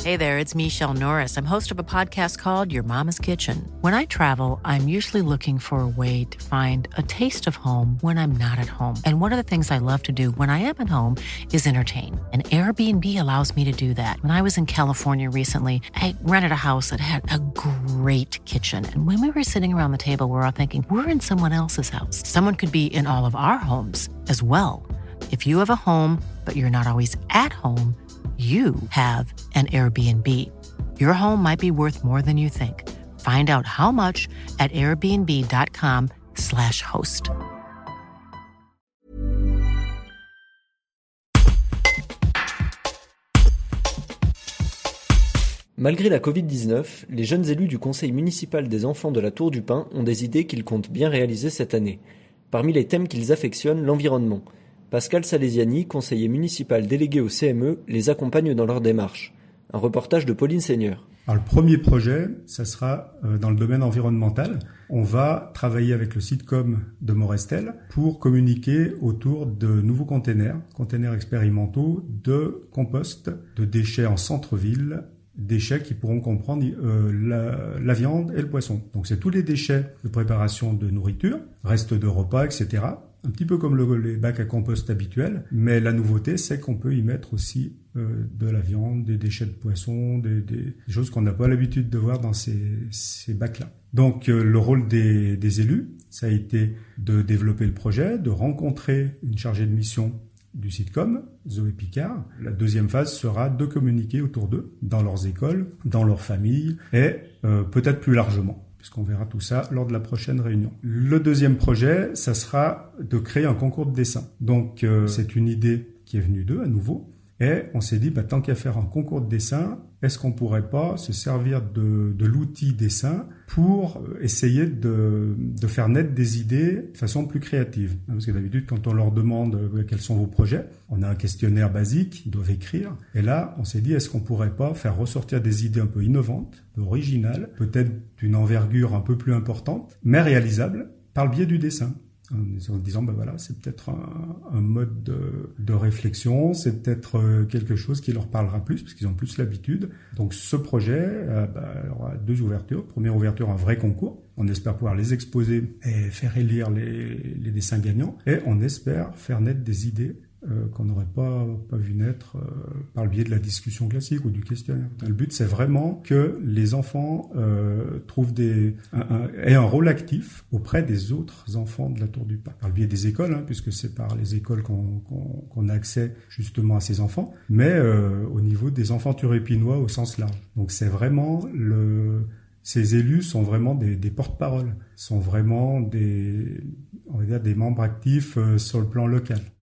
Hey there, it's Michelle Norris. I'm host of a podcast called Your Mama's Kitchen. When I travel, I'm usually looking for a way to find a taste of home when I'm not at home. And one of the things I love to do when I am at home is entertain. And Airbnb allows me to do that. When I was in California recently, I rented a house that had a great kitchen. And when we were sitting around the table, we were all thinking, we're in someone else's house. Someone could be in all of our homes as well. If you have a home, but you're not always at home, you have an Airbnb. Your home might be worth more than you think. Find out how much at airbnb.com/host. Malgré la Covid-19, les jeunes élus du conseil municipal des enfants de la Tour du Pin ont des idées qu'ils comptent bien réaliser cette année. Parmi les thèmes qu'ils affectionnent, l'environnement. Pascal Salesiani, conseiller municipal délégué au CME, les accompagne dans leur démarche. Un reportage de Pauline Seigneur. Alors, le premier projet, ça sera dans le domaine environnemental. On va travailler avec le Sitcom de Morestel pour communiquer autour de nouveaux containers expérimentaux de compost de déchets en centre-ville, déchets qui pourront comprendre la viande et le poisson. Donc c'est tous les déchets de préparation de nourriture, restes de repas, etc. Un petit peu comme les bacs à compost habituels, mais la nouveauté, c'est qu'on peut y mettre aussi de la viande, des déchets de poisson, des choses qu'on n'a pas l'habitude de voir dans ces bacs-là. Donc le rôle des élus, ça a été de développer le projet, de rencontrer une chargée de mission du Sitcom, Zoé Picard. La deuxième phase sera de communiquer autour d'eux, dans leurs écoles, dans leurs familles et peut-être plus largement, puisqu'on verra tout ça lors de la prochaine réunion. Le deuxième projet, ça sera de créer un concours de dessin. Donc c'est une idée qui est venue d'eux à nouveau. Et on s'est dit, tant qu'à faire un concours de dessin, est-ce qu'on pourrait pas se servir de l'outil dessin pour essayer de faire naître des idées de façon plus créative? Parce que d'habitude, quand on leur demande quels sont vos projets, on a un questionnaire basique, ils doivent écrire. Et là, on s'est dit, est-ce qu'on pourrait pas faire ressortir des idées un peu innovantes, un peu originales, peut-être d'une envergure un peu plus importante, mais réalisables par le biais du dessin? En disant, c'est peut-être un mode de réflexion, c'est peut-être quelque chose qui leur parlera plus, parce qu'ils ont plus l'habitude. Donc ce projet aura deux ouvertures. Première ouverture, un vrai concours. On espère pouvoir les exposer et faire élire les dessins gagnants. Et on espère faire naître des idées qu'on n'aurait pas vu naître par le biais de la discussion classique ou du questionnaire. Le but, c'est vraiment que les enfants aient un rôle actif auprès des autres enfants de la Tour du Pin. Par le biais des écoles, puisque c'est par les écoles qu'on a accès justement à ces enfants, mais au niveau des enfants turépinois au sens large. Donc c'est vraiment ces élus sont vraiment des porte-paroles, sont vraiment des membres actifs sur le plan local.